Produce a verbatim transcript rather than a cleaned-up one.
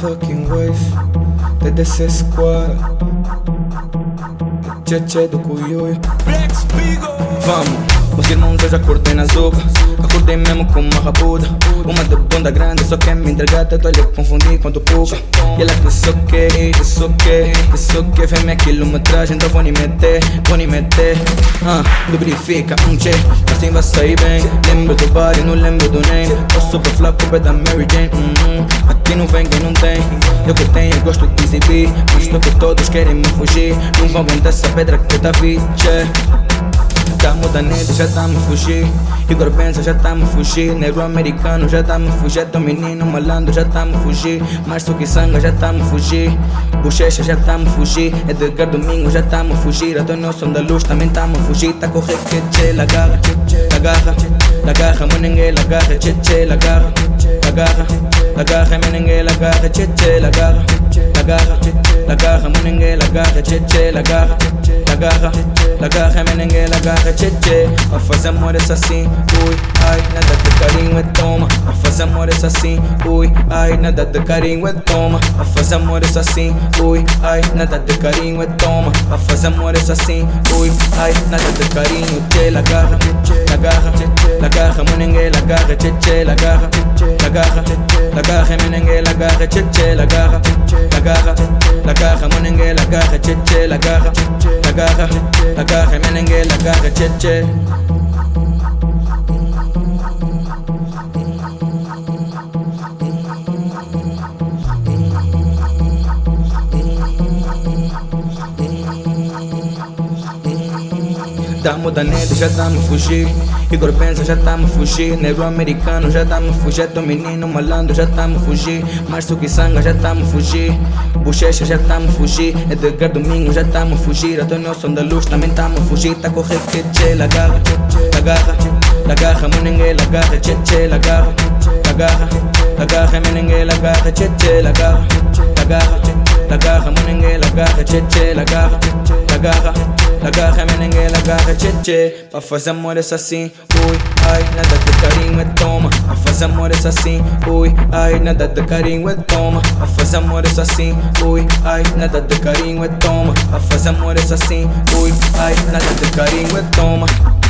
fucking wave, T D C Squad, Tchê do Cuiui. Vamos! Os irmãos eu já acordei na zuba. Acordei mesmo com uma rabuda. Uma de bunda grande só quer me entregar. Até olha confundir quanto puga. E ela disse ok, disse ok, disse ok. Vem-me a quilometragem, então vou nem meter, vou nem meter. Ah, lubrifica um tchê, assim vai sair bem. Lembro do bar e não lembro do name. Tô super flaco, pé da Mary Jane. Hum, aqui não vem quem não tem. Eu que tenho, eu gosto de exibir. Visto que todos querem me fugir. Não vão aguentar essa pedra que tá vi, tchê. Tamo da net, já tamo fugir. Igor Benza, já tamo fugir. Negro americano, já tamo fugir. Tô menino malandro, já tamo fugir. Mais que sangue, já tamo fugir. Bochecha, já tamo fugir. Edgar Domingo, já tamo fugir. Até o som da luz, também tamo fugir. Tá correr que tchê, la garra, la garra, la garra, moningue, la garra, tchê, tchê, la garra, la garra, la garra, meningue, la garra, tchê, tchê, la garra, la garra, la garra, moningue, la garra, tchê, tchê, la garra, la garra, la garra, meningue, la garra, tchê, tchê. A fazer amor é assim, ui, ai, nada de carinho é toma. A fazer amor é assim, ui, ai, nada de carinho é toma. A fazer amor é assim, ui, ai, nada de carinho é toma. A fazer amor é assim, ui, ai, nada de carinho, tchê, la garra, la garra, la garra, moningue, la garra, tchê, tchê, la garra, la garra, la garra, meningue, la garra, tchê, tchê, la garra, la garra, la garra, moningue, la garra, tchê, tchê, la garra, la garra, la garra, meningue, la garra, tchê, tchê. Tamo da net, já tamo fugir. Igor Benza, já tamo fugir. Negro americano, já tamo fugir. Tô menino malandro, já tamo fugir. Mais que sangue, já tamo fugir. Bochecha, já tamo fugir. Edgar Domingo, já tamo fugir. Até o som da luz, também tamo fugir. Tá correr que tchê, la garra, la garra, la garra, moningue, la garra, tchê, tchê, la garra, la garra, la garra, meningue, la garra, tchê, tchê, la garra, la garra, la garra, moningue, la garra, tchê, tchê, la garra, la garra, la garra, meningue, la garra, tchê, tchê. Pra fazer amor é assim, ui, ai, nada de carinho é toma. A fazer amor é assim, ui, ai, nada de carinho é toma. A fazer amor é assim, ui, ai, nada de carinho é toma. A fazer amor é assim, ui, ai, nada de carinho é toma.